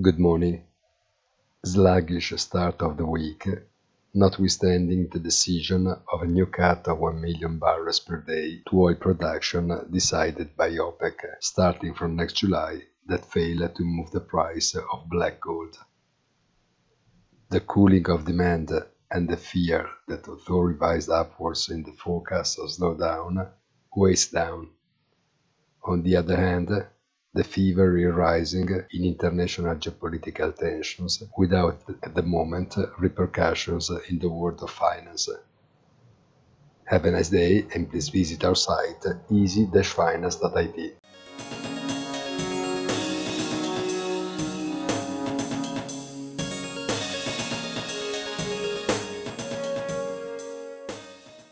Good morning. Sluggish start of the week, notwithstanding the decision of a new cut of 1 million barrels per day to oil production decided by OPEC starting from next July that failed to move the price of black gold. The cooling of demand and the fear that although revised upwards in the forecast of slowdown weighs down. On the other hand, the fever is rising in international geopolitical tensions without, at the moment, repercussions in the world of finance. Have a nice day and please visit our site easy-finance.it.